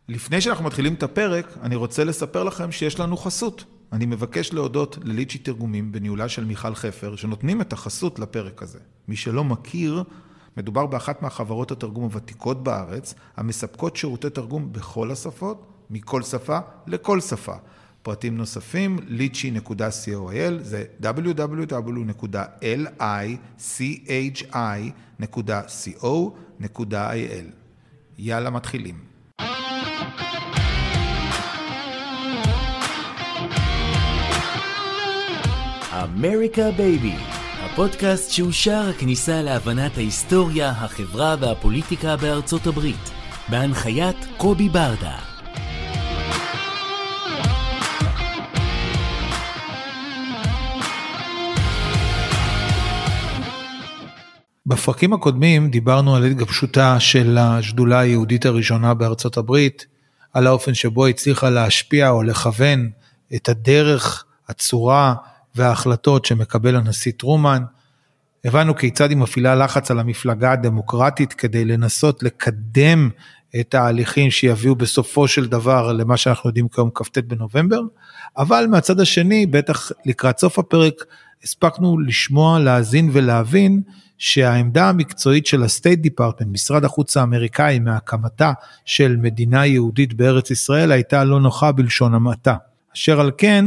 לפני שאנחנו מתחילים את הפרק, אני רוצה לספר לכם שיש לנו חסות. אני מבקש להודות לליצ'י תרגומים בניהולה של מיכל חפר, שנותנים את החסות לפרק הזה. מי שלא מכיר, מדובר באחת מהחברות התרגום הוותיקות בארץ, המספקות שירותי תרגום בכל השפות, מכל שפה לכל שפה. פרטים נוספים, litchi.coil, זה www.lichi.co.il. יאללה, מתחילים. אמריקה בייבי, הפודקאסט שהוא שער הכניסה להבנת ההיסטוריה, החברה והפוליטיקה בארצות הברית, בהנחיית קובי ברדה. בפרקים הקודמים דיברנו על התגבשותה של השדולה היהודית הראשונה בארצות הברית, על האופן שבו הצליחה להשפיע או לכוון את הדרך, הצורה וההחלטות שמקבל הנשיא טרומן. הבנו כיצד היא מפעילה לחץ על המפלגה הדמוקרטית כדי לנסות לקדם את ההליכים שיביאו בסופו של דבר למה שאנחנו יודעים כיום כ"ט בנובמבר, אבל מהצד השני, בטח לקראת סוף הפרק, הספקנו לשמוע, להאזין ולהבין שהעמדה המקצועית של הסטייט דיפרטמנט, משרד החוץ האמריקאי, מהקמתה של מדינה יהודית בארץ ישראל, הייתה לא נוחה בלשון המעטה. אשר על כן,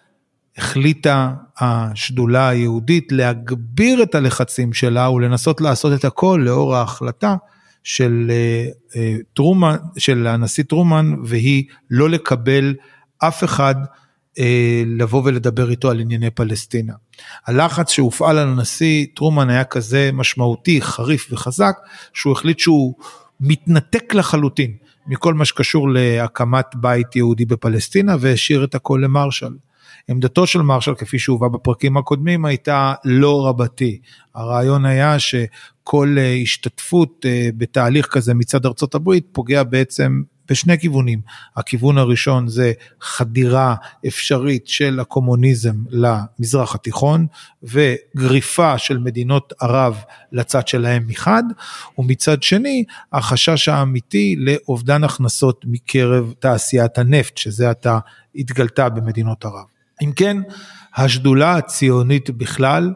החליטה השדולה היהודית להגביר את הלחצים שלה, ולנסות לעשות את הכל לאור ההחלטה של טרומן, של הנשיא טרומן, והיא לא לקבל אף אחד לבוא ולדבר איתו על ענייני פלסטינה. הלחץ שהופעל על הנשיא טרומן היה כזה משמעותי, חריף וחזק, שהוא החליט שהוא מתנתק לחלוטין מכל מה שקשור להקמת בית יהודי בפלסטינה, והשאיר את הכל למרשל. עמדתו של מרשל, כפי שהובא בפרקים הקודמים, הייתה לא רבתי. הרעיון היה שכל השתתפות בתהליך כזה מצד ארצות הברית, פוגע בעצם בשני כיוונים. הכיוון הראשון זה חדירה אפשרית של הקומוניזם למזרח התיכון, וגריפה של מדינות ערב לצד שלהם מחד, ומצד שני, החשש האמיתי לאובדן הכנסות מקרב תעשיית הנפט, שזה עתה התגלתה במדינות ערב. אם כן, השדולה הציונית בכלל,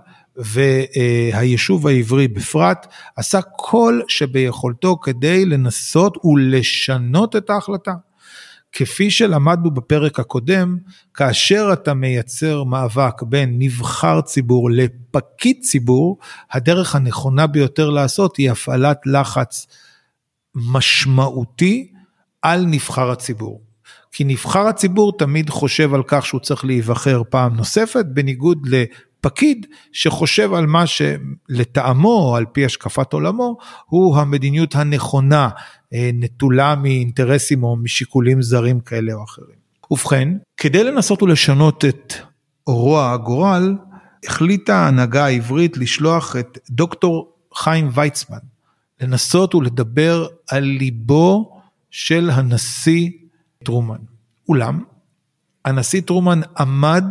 והיישוב העברי בפרט, עשה כל שביכולתו כדי לנסות ולשנות את ההחלטה. כפי שלמדנו בפרק הקודם, כאשר אתה מייצר מאבק בין נבחר ציבור לפקיד ציבור, הדרך הנכונה ביותר לעשות היא הפעלת לחץ משמעותי על נבחר הציבור. כי נבחר הציבור תמיד חושב על כך שהוא צריך להיבחר פעם נוספת, בניגוד לפקיד שחושב על מה שלטעמו, או על פי השקפת עולמו, הוא המדיניות הנכונה, נטולה מאינטרסים או משיקולים זרים כאלה או אחרים. ובכן, כדי לנסות ולשנות את רוע הגורל, החליטה ההנהגה העברית לשלוח את דוקטור חיים ויצמן, לנסות ולדבר על ליבו של הנשיא טרומן. אולם, הנשיא טרומן עמד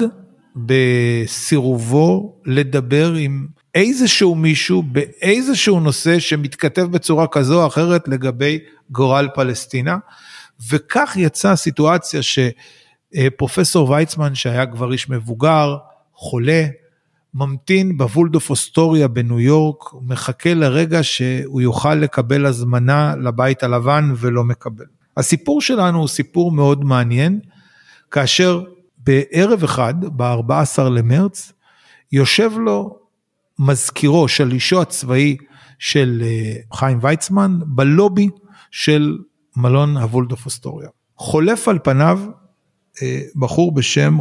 בסירובו לדבר עם איזשהו מישהו באיזשהו נושא שמתכתב בצורה כזו או אחרת לגבי גורל פלסטינה, וכך יצאה סיטואציה שפרופסור ויצמן, שהיה כבר איש מבוגר, חולה, ממתין בוולדורף אסטוריה בניו יורק, מחכה לרגע שהוא יוכל לקבל הזמנה לבית הלבן ולא מקבל. הסיפור שלנו הוא סיפור מאוד מעניין, כאשר בערב אחד, ב-14 למרץ, יושב לו מזכירו של אישו הצבאי של חיים ויצמן, בלובי של מלון הוולדורף אסטוריה. חולף על פניו בחור בשם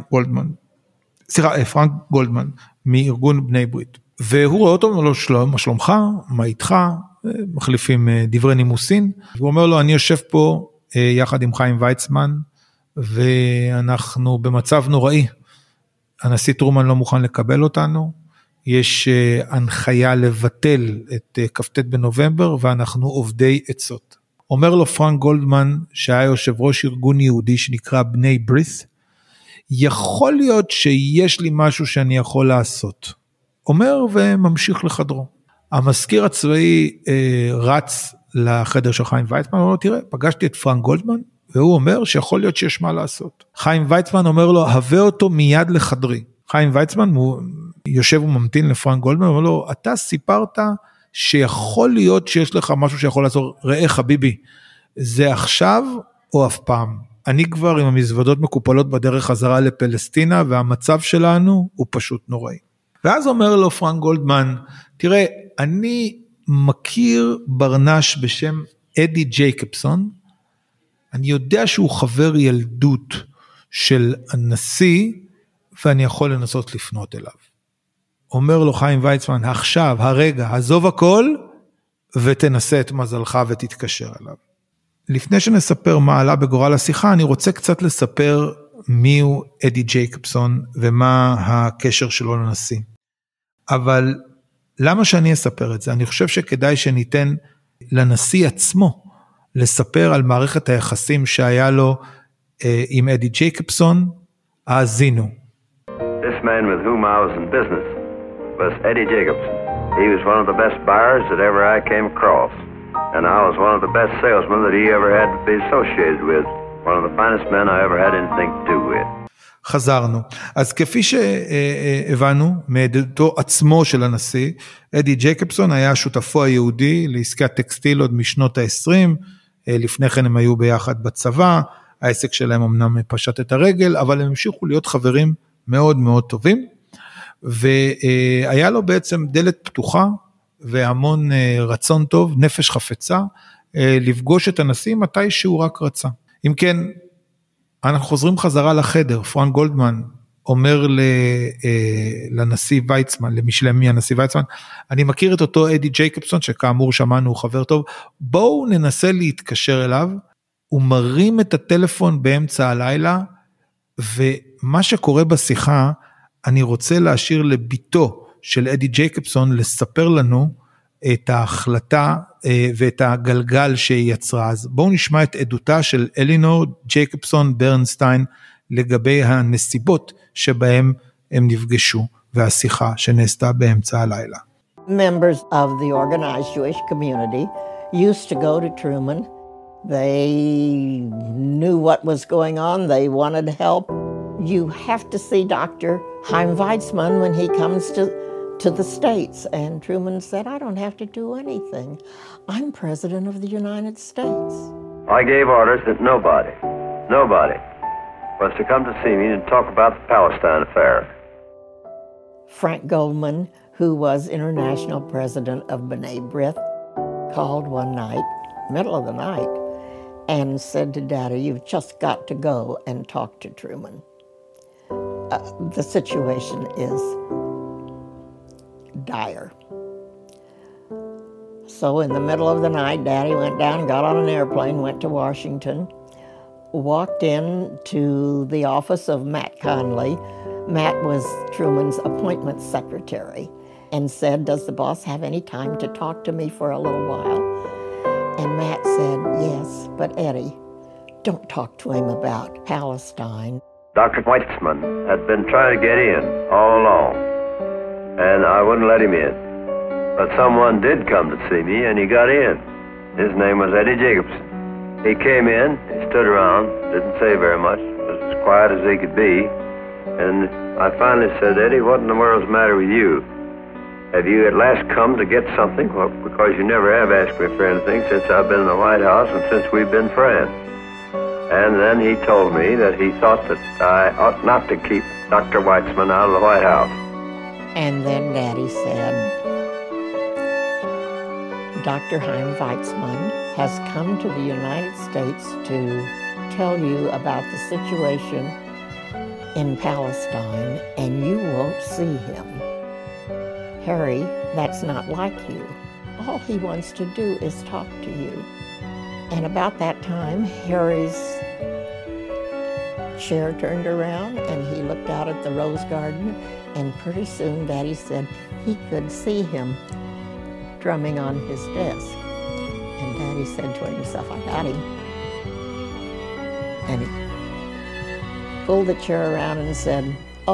פרנק גולדמן, מארגון בני ברית. והוא רואה אותו, אומר לו, מה שלומך? מה איתך? מחליפים דברי נימוסין, והוא אומר לו, אני יושב פה יחד עם חיים ויצמן, ואנחנו במצב נוראי, הנשיא טרומן לא מוכן לקבל אותנו, יש הנחיה לבטל את כ"ט בנובמבר, ואנחנו עובדי עצות. אומר לו פרנק גולדמן, שהיה יושב ראש ארגון יהודי שנקרא בני ברית, יכול להיות שיש לי משהו שאני יכול לעשות. אומר וממשיך לחדרו. המזכיר הצבאי רץ לחדר של חיים ויצמן, הוא אומר לו, תראה, פגשתי את פרנק גולדמן, והוא אומר שיכול להיות שיש מה לעשות. חיים ויצמן אומר לו, הבא אותו מיד לחדרי. חיים ויצמן הוא יושב וממתין לפרנק גולדמן, הוא אומר לו, אתה סיפרת שיכול להיות שיש לך משהו שיכול לעזור, ראה חביבי, זה עכשיו או אף פעם. אני כבר עם המזוודות מקופלות בדרך חזרה לפלסטינה, והמצב שלנו הוא פשוט נוראי. ואז אומר לו פרנק גולדמן, תראה, אני מכיר ברנש בשם אדי ג'ייקובסון, אני יודע שהוא חבר ילדות של הנשיא, ואני יכול לנסות לפנות אליו. אומר לו חיים ויצמן, עכשיו, הרגע, עזוב הכל, ותנסה את מזלך ותתקשר אליו. לפני שנספר מה עלה בגורל השיחה, אני רוצה קצת לספר מיהו אדי ג'ייקובסון, ומה הקשר שלו לנשיא. אבל למה שאני אספר את זה? אני חושב שכדאי שניתן לנשיא עצמו, לספר על מערכת היחסים שהיה לו עם אדי ג'ייקובסון, האזינו. This man with whom I was in business was Eddie Jacobson. He was one of the best buyers that ever I came across. And I was one of the best salesmen that he ever had to be associated with. One of the finest men I ever had anything to do with. חזרנו. אז כפי שהבנו מעדותו עצמו של הנשיא, אדי ג'ייקובסון היה שותפו היהודי לעסקת טקסטיל עוד משנות ה-20, לפני כן הם היו ביחד בצבא, העסק שלהם אמנם פשט את הרגל, אבל הם המשיכו להיות חברים מאוד מאוד טובים, והיה לו בעצם דלת פתוחה, והמון רצון טוב, נפש חפצה, לפגוש את הנשיא מתי שהוא רק רצה. אם כן, אנחנו חוזרים חזרה לחדר, פרנק גולדמן אומר לנשיא ויצמן, למשלמי הנשיא ויצמן, אני מכיר את אותו אדי ג'ייקובסון, שכאמור שמענו הוא חבר טוב, בואו ננסה להתקשר אליו, הוא מרים את הטלפון באמצע הלילה, ומה שקורה בשיחה, אני רוצה להשאיר לביתו של אדי ג'ייקובסון, לספר לנו את ההחלטה ואת הגלגל שהיא יצרה. אז בואו נשמע את עדותה של אלינור ג'ייקובסון ברנסטיין, לגבי הנסיבות שבהם הם נפגשו, והשיחה שנעשתה באמצע הלילה. Members of the organized Jewish community used to go to Truman. They knew what was going on. They wanted help. You have to see Dr. Chaim Weizmann when he comes to the States. And Truman said, I don't have to do anything. I'm President of the United States. I gave orders that nobody was to come to see me and talk about the Palestine affair. Frank Goldman, who was international president of B'nai B'rith, called one night, middle of the night, and said to Daddy, you've just got to go and talk to Truman. The situation is dire. So in the middle of the night, Daddy went down, got on an airplane, went to Washington, walked in to the office of Matt Conley. Matt was Truman's appointment secretary, and said, does the boss have any time to talk to me for a little while? And Matt said, yes, but Eddie, don't talk to him about Palestine. Dr. Weizmann had been trying to get in all along, and I wouldn't let him in. But someone did come to see me, and he got in. His name was Eddie Jacobson. He came in, he stood around, didn't say very much, was as quiet as he could be, and I finally said, Eddie, what in the world's the matter with you? Have you at last come to get something? Well, because you never have asked me for anything since I've been in the White House and since we've been friends. And then he told me that he thought that I ought not to keep Dr. Weizmann out of the White House. And then Daddy said, Dr. Chaim Weizmann has come to the United States to tell you about the situation in Palestine, and you won't see him. Harry, that's not like you. All he wants to do is talk to you. And about that time, Harry's chair turned around and he looked out at the rose garden, and pretty soon Daddy said he could see him drumming on his desk. And Daddy said to himself, I got him. And he pulled the chair around and said,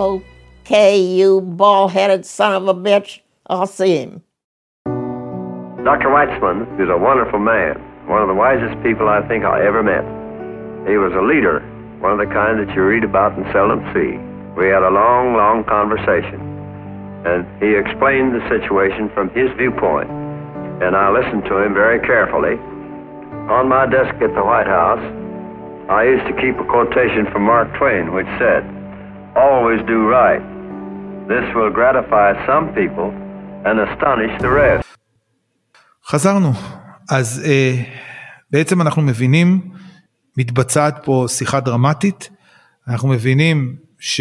okay, you bald-headed son of a bitch, I'll see him. Dr. Weitzman is a wonderful man, one of the wisest people I think I ever met. He was a leader, one of the kind that you read about and seldom see. We had a long, long conversation, and he explained the situation from his viewpoint, and I listened to him very carefully. On my desk at the White House, I used to keep a quotation from Mark Twain, which said, "Always do right. This will gratify some people and astonish the rest." חזרנו. אז בעצם אנחנו מבינים, מתבצעת פה שיחה דרמטית, אנחנו מבינים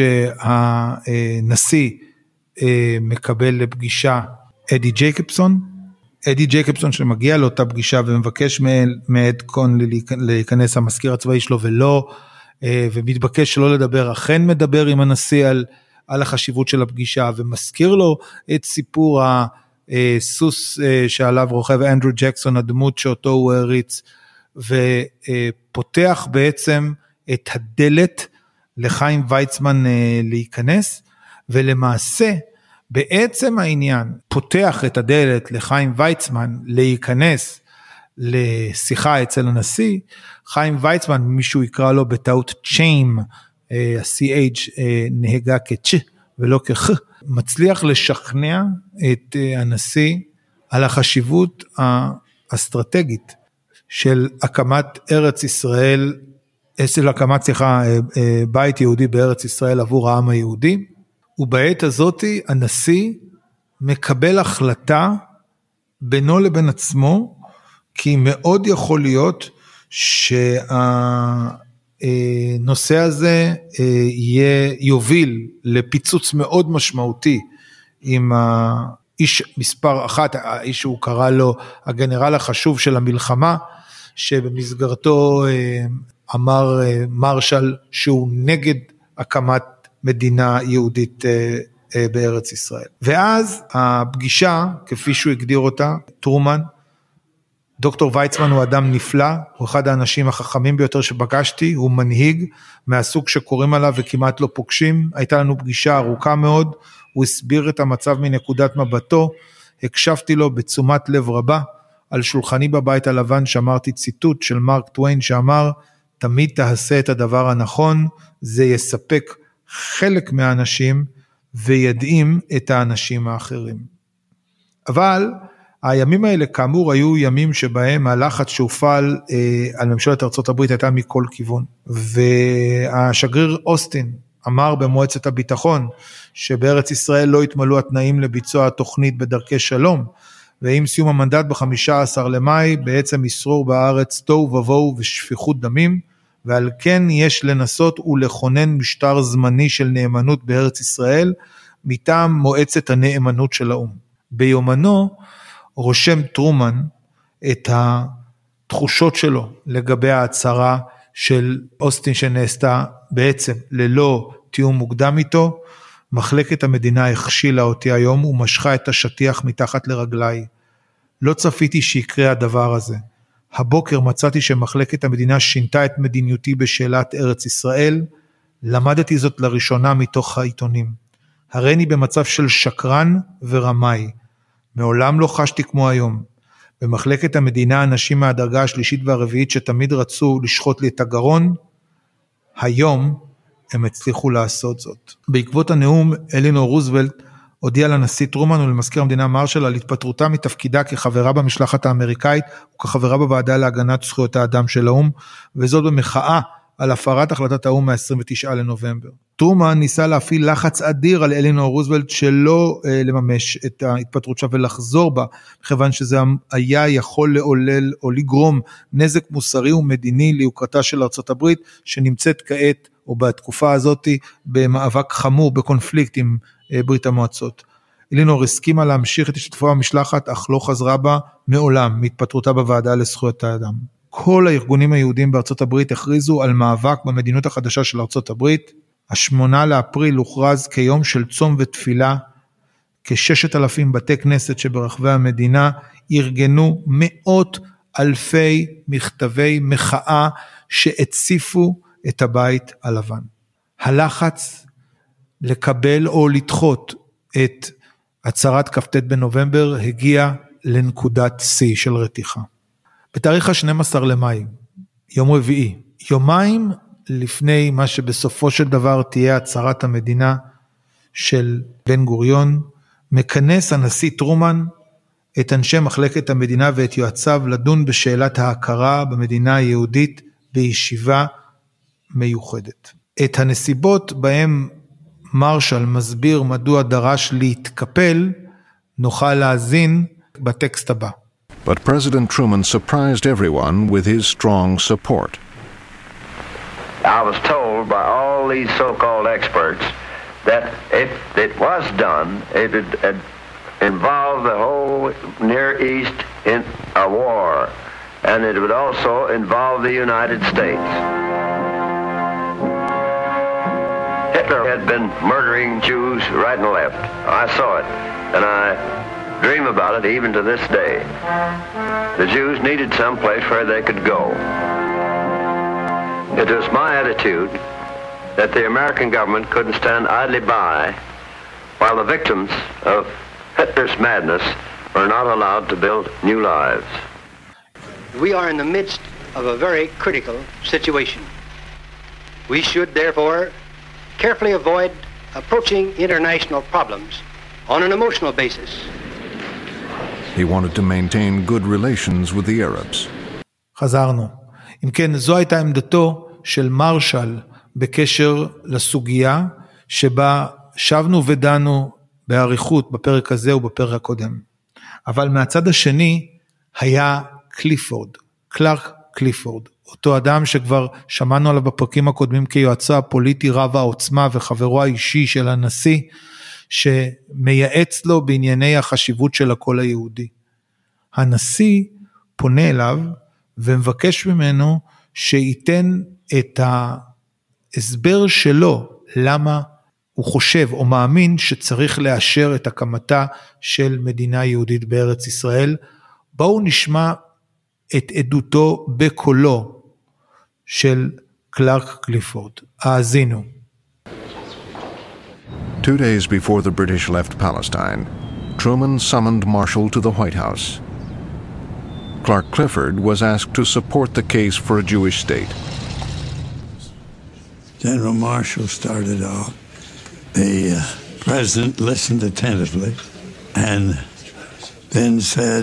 שהנשיא מקבל לפגישה אדי ג'ייקובסון, אדי ג'ייקובסון שמגיע לאותה פגישה ומבקש מאד קונלי להיכנס המזכיר הצבאי שלו ולא, ומתבקש שלא לדבר, אכן מדבר עם הנשיא על החשיבות של הפגישה, ומזכיר לו את סיפור הסוס שעליו רוכב אנדרו ג'קסון, הדמות שאותו הוא הריץ, ופותח בעצם את הדלת לחיים ויצמן להיכנס, ולמעשה בעצם העניין פותח את הדלת לחיים ויצמן להיכנס לשיחה אצל הנשיא. חיים ויצמן, מישהו יקרא לו בטעות צ'יים, ה-CH נהגה כצ' ולא כח, מצליח לשכנע את הנשיא על החשיבות האסטרטגית של הקמת ארץ ישראל, בית יהודי בארץ ישראל עבור העם היהודי, ובעת הזאת הנשיא מקבל החלטה בינו לבין עצמו, כי מאוד יכול להיות שהנושא הזה יוביל לפיצוץ מאוד משמעותי עם האיש מספר אחת, האיש שהוא קרא לו הגנרל החשוב של המלחמה, שבמסגרתו אמר מרשל שהוא נגד הקמת מדינה יהודית בארץ ישראל. ואז הפגישה, כפי שהוא הגדיר אותה, טרומן, דוקטור ויצמן הוא אדם נפלא, הוא אחד האנשים החכמים ביותר שפגשתי, הוא מנהיג מהסוג שקוראים עליו וכמעט לא פוגשים, הייתה לנו פגישה ארוכה מאוד, הוא הסביר את המצב מנקודת מבטו, הקשבתי לו בתשומת לב רבה, על שולחני בבית הלבן שמרתי ציטוט של מרק טוויין שאמר, תמיד תעשה את הדבר הנכון, זה יספק חלק מהאנשים וידעים את האנשים האחרים. אבל הימים האלה כאמור היו ימים שבהם הלחץ שהופעל על ממשלת ארצות הברית הייתה מכל כיוון, והשגריר אוסטין אמר במועצת הביטחון שבארץ ישראל לא התמלאו התנאים לביצוע התוכנית בדרכי שלום, ועם סיום המנדט ב-15 למאי בעצם ישרור בארץ תוהו ובוהו ושפיכות דמים, ועל כן יש לנסות ולכונן משטר זמני של נאמנות בארץ ישראל, מטעם מועצת הנאמנות של האו"ם. ביומנו רושם טרומן את התחושות שלו לגבי ההצהרה של אוסטין שנעשתה בעצם ללא תיאום מוקדם איתו, מחלקת המדינה הכשילה אותי היום ומשכה את השטיח מתחת לרגליי. לא צפיתי שיקרה הדבר הזה. הבוקר מצאתי שמחלקת המדינה שינתה את מדיניותי בשאלת ארץ ישראל, למדתי זאת לראשונה מתוך העיתונים. הריני במצב של שקרן ורמאי, מעולם לא חשתי כמו היום. במחלקת המדינה אנשים מהדרגה השלישית והרביעית שתמיד רצו לשחוט לי את הגרון, היום הם הצליחו לעשות זאת. בעקבות הנאום, אלינור רוזוולט הודיעה לנשיא טרומן ולמזכיר המדינה מרשל על התפטרותה מתפקידה כחברה במשלחת האמריקאית וכחברה בוועדה להגנת זכויות האדם של האו"ם, וזאת במחאה על הפרת החלטת האו"ם מה-29 לנובמבר. טרומן ניסה להפעיל לחץ אדיר על אלינור רוזוולט שלא לממש את ההתפטרות שלה ולחזור בה, כיוון שזה היה יכול לעולל או לגרום נזק מוסרי ומדיני ליוקרתה של ארצות הברית, שנמצאת כעת או בתקופה הזאת במאבק חמור, בקונפליקט עם ברית המועצות. אלינור הסכימה להמשיך את השתתפותה במשלחת, אך לא חזרה בה מעולם מהתפטרותה בוועדה לזכויות האדם. כל הארגונים היהודים בארצות הברית הכריזו על מאבק במדיניות החדשה של ארצות הברית. 8 לאפריל הוכרז כיום של צום ותפילה, כ6,000 בתי כנסת שברחבי המדינה ארגנו מאות אלפי מכתבי מחאה שהציפו את הבית הלבן. הלחץ לקבל או לדחות את הצהרת כ"ט בנובמבר הגיע לנקודת שיא של רתיחה. בתאריך ה-12 למאי, יום רביעי, יומיים לפני מה שבסופו של דבר תהיה הצהרת המדינה של בן גוריון, מכנס הנשיא טרומן את אנשי מחלקת המדינה ואת יועציו לדון בשאלת ההכרה במדינה היהודית בישיבה מיוחדת. את הנסיבות בהם מרשל מסביר מדוע דרש להתקפל, נוכל להאזין בטקסט הבא. But President Truman surprised everyone with his strong support. I was told by all these so-called experts that if it was done, it would involve the whole Near East in a war, and it would also involve the United States. Hitler had been murdering Jews right and left. I saw it, and I dream about it even to this day. The Jews needed some place where they could go. It was my attitude that the American government couldn't stand idly by while the victims of Hitler's madness were not allowed to build new lives. We are in the midst of a very critical situation. We should therefore carefully avoid approaching international problems on an emotional basis. He wanted to maintain good relations with the Arabs. חזרנו. אם כן, זו הייתה עמדתו של מרשל בקשר לסוגיה שבה שבנו ודנו בעריכות בפרק הזה ובפרק הקודם. אבל מהצד השני היה קליפורד, קלארק קליפורד, אותו אדם שכבר שמענו עליו בפרקים הקודמים כיועצו הפוליטי רב העוצמה וחברו האישי של הנשיא, שמייעץ לו בענייני החשיבות של הקול היהודי. הנשיא פונה אליו ומבקש ממנו שייתן את ההסבר שלו למה הוא חושב או מאמין שצריך לאשר את הקמתה של מדינה יהודית בארץ ישראל. בואו נשמע את עדותו בקולו של קלארק קליפורד. האזינו. 2 days before the British left Palestine, Truman summoned Marshall to the White House. Clark Clifford was asked to support the case for a Jewish state. General Marshall started off. The president listened attentively and then said,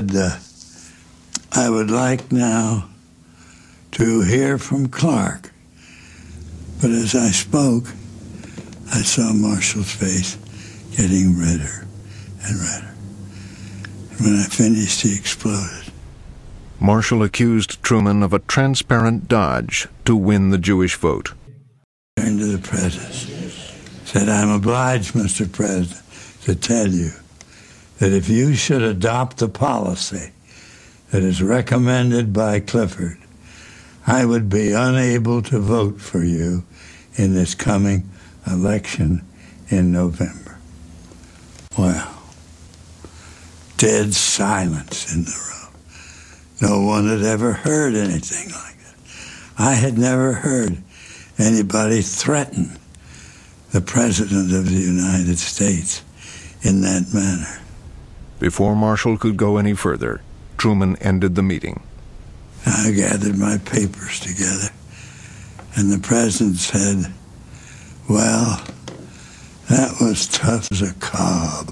I would like now to hear from Clark. But as I spoke, I saw Marshall's face getting redder and redder. And when I finished, he exploded. Marshall accused Truman of a transparent dodge to win the Jewish vote. Turned to the president, said, I'm obliged, Mr. President, to tell you that if you should adopt the policy that is recommended by Clifford, I would be unable to vote for you in this coming election in November. Well, dead silence in the room. No one had ever heard anything like that. I had never heard anybody threaten the President of the United States in that manner. Before Marshall could go any further, Truman ended the meeting. I gathered my papers together, and the President said, well, that was tough as a cob.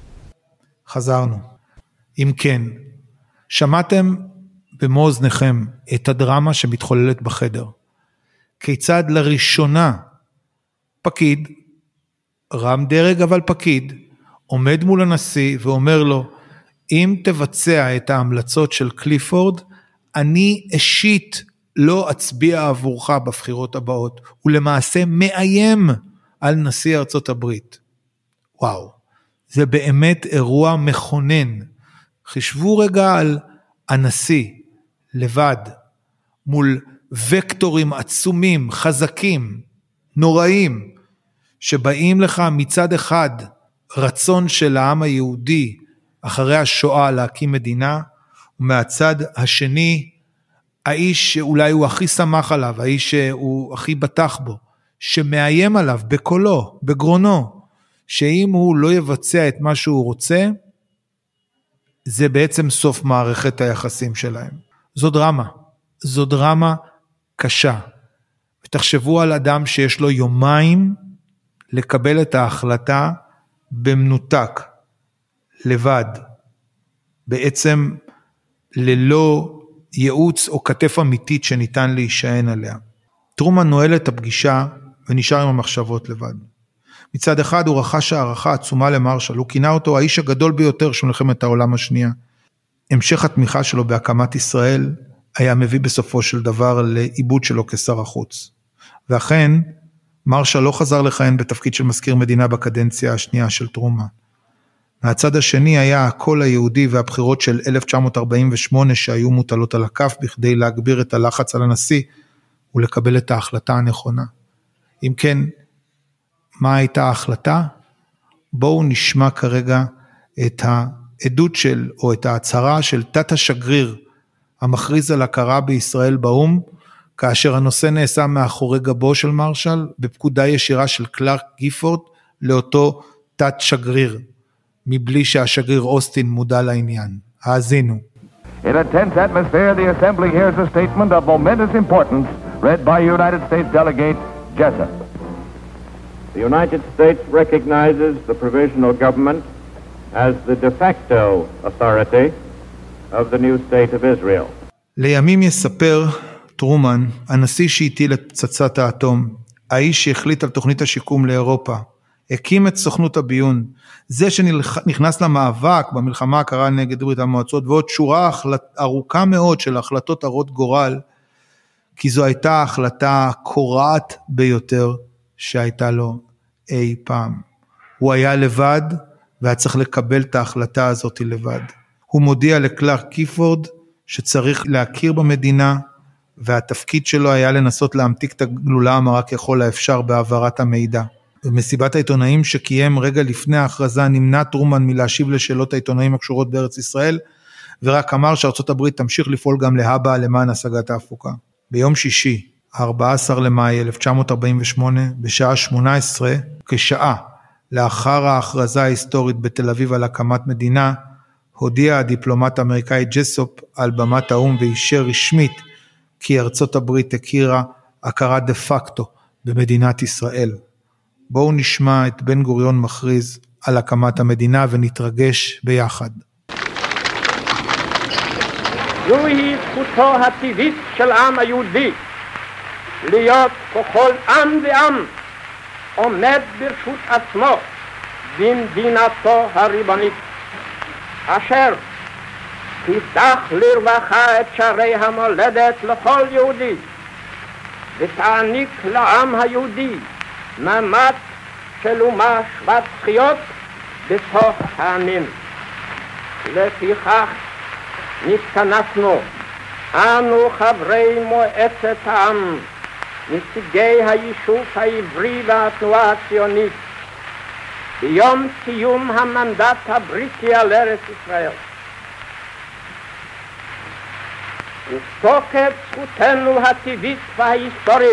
חזרנו. אם כן, שמעתם במו אוזניכם את הדרמה שמתחוללת בחדר. כיצד לראשונה פקיד, רם דרג אבל פקיד, עומד מול הנשיא ואומר לו, אם תבצע את ההמלצות של קליפורד, אני אישית לא אצביע עבורך בבחירות הבאות, ולמעשה מאיים על נשיא ארצות הברית. וואו, זה באמת אירוע מכונן. חשבו רגע על הנשיא, לבד, מול וקטורים עצומים, חזקים, נוראים, שבאים לך מצד אחד רצון של העם היהודי אחרי השואה להקים מדינה, ומהצד השני האיש שאולי הוא הכי שמח עליו, האיש שהוא הכי בטח בו, שמאיים עליו בקולו, בגרונו, שאם הוא לא יבצע את מה שהוא רוצה, זה בעצם סוף מערכת היחסים שלהם. זו דרמה קשה. ותחשבו על אדם שיש לו יומיים לקבל את ההחלטה במנותק, לבד, בעצם ללא ייעוץ או כתף אמיתית שניתן להישען עליה. טרומן נועל את הפגישה ונשאר עם המחשבות לבד. מצד אחד הוא רכש הערכה עצומה למרשל, הוא כינה אותו האיש הגדול ביותר של מלחמת העולם השנייה. המשך התמיכה שלו בהקמת ישראל היה מביא בסופו של דבר לאיבוד שלו כשר החוץ. ואכן, מרשל לא חזר לכהן בתפקיד של מזכיר מדינה בקדנציה השנייה של טרומן. מהצד השני היה הקול היהודי והבחירות של 1948 שהיו מוטלות על הכף בכדי להגביר את הלחץ על הנשיא ולקבל את ההחלטה הנכונה. אם כן, מה הייתה ההחלטה? בואו נשמע כרגע את העדות של, או את ההצהרה של תת השגריר המכריז על הכרה בישראל באום, כאשר הנושא נעשה מאחורי גבו של מרשל, בפקודה ישירה של קלארק גיפורד לאותו תת שגריר, מבלי שהשגריר אוסטין מודע לעניין. האזינו. In a tense atmosphere, the Assembly hears a statement of momentous importance read by United States Delegate Jessup. The United States recognizes the provisional government as the de facto authority of the new state of Israel. לימים יספר טרומן, הנשיא שהטיל את פצצת האטום, האיש שהחליט על תוכנית השיקום לאירופה, הקים את סוכנות הביון, זה שנכנס למאבק במלחמה הקרה נגד ברית המועצות, ועוד שורה ארוכה מאוד של החלטות הרות גורל, כי זו הייתה ההחלטה הקורעת ביותר שהייתה לו אי פעם. הוא היה לבד, והיה צריך לקבל את ההחלטה הזאת לבד. הוא מודיע לקלארק גיפורד, שצריך להכיר במדינה, והתפקיד שלו היה לנסות להמתיק את הגלולה המרה ככל האפשר בהעברת המידע. במסיבת העיתונאים שקיים רגע לפני ההכרזה, נמנע טרומן מלהשיב לשאלות העיתונאים הקשורות בארץ ישראל, ורק אמר שארצות הברית תמשיך לפעול גם להבא למען השגת ההפוגה. ביום שישי, 14 למאי 1948, בשעה 18, כשעה לאחר ההכרזה ההיסטורית בתל אביב על הקמת מדינה, הודיע הדיפלומט האמריקאי ג'סופ על במת האום ואישר רשמית כי ארצות הברית הכירה הכרה דה פקטו במדינת ישראל. בואו נשמע את בן גוריון מכריז על הקמת המדינה ונתרגש ביחד. זוהי זכותו הטבעית של העם היהודי להיות ככל עם ועם עומד ברשות עצמו במדינתו הריבונית, אשר תפתח לרווחה את שערי המולדת לכל יהודי ותעניק לעם היהודי מעמד של אומה שוות זכויות בתוך העמים. לפיכך נתכנסנו אנו חברי מועצת העם, נציגי היישוב העברי והתנועה הציונית, ביום סיום המנדט הבריטי על ארץ ישראל. ותוקף זכותנו הטבעית וההיסטורית,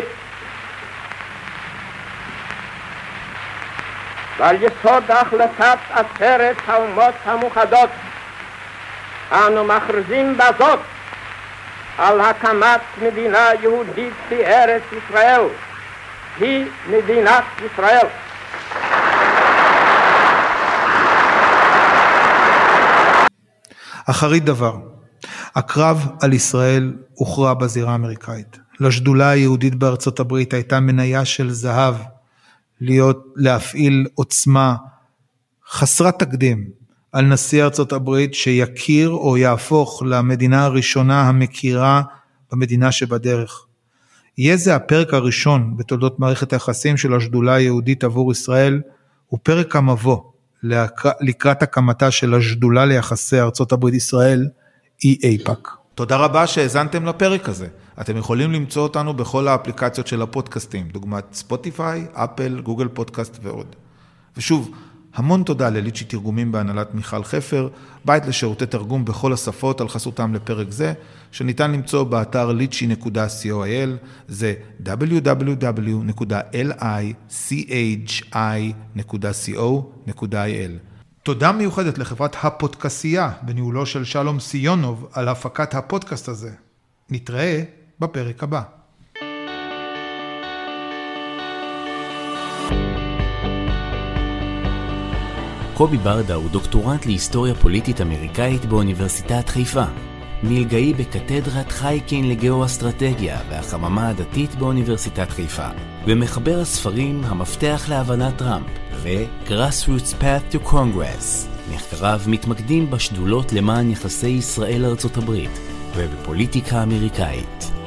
ועל יסוד החלטת עצרת האומות המאוחדות, אנו מכריזים בזאת על הקמת מדינה יהודית בארץ ישראל, היא מדינת ישראל. אחרית דבר, הקרב על ישראל הוכרע בזירה האמריקאית. לשדולה היהודית בארצות הברית הייתה מניה של זהב, להפעיל עוצמה חסרת תקדים על נשיא ארצות הברית שיכיר או יהפוך למדינה הראשונה המכירה במדינה שבדרך. יהיה זה הפרק הראשון בתולדות מערכת היחסים של השדולה היהודית עבור ישראל, הוא פרק המבוא לקראת הקמתה של השדולה ליחסי ארצות הברית ישראל, EAPAC. תודה רבה שהאזנתם לפרק הזה. אתם יכולים למצוא אותנו בכל האפליקציות של הפודקאסטים, דוגמת ספוטיפיי, אפל, גוגל פודקאסט ועוד. ושוב, המון תודה לליצ'י תרגומים בהנהלת מיכל חפר, בית לשירותי תרגום בכל השפות על חסותם לפרק זה, שניתן למצוא באתר litchi.co.il, זה www.lichi.co.il. תודה מיוחדת לחברת הפודקאסייה בניהולו של שלום סיונוב על הפקת הפודקאסט הזה. נתראה בפרק הבא. קובי ברדה הוא דוקטורנט להיסטוריה פוליטית אמריקאית באוניברסיטת חיפה. מלגאי בקתדרת חייקין לגאו-אסטרטגיה והחממה הדתית באוניברסיטת חיפה. ומחבר הספרים המפתח להבנת טראמפ ו-Grassroots Path to Congress. מחקריו מתמקדים בשדולות למען יחסי ישראל ארצות הברית ובפוליטיקה אמריקאית.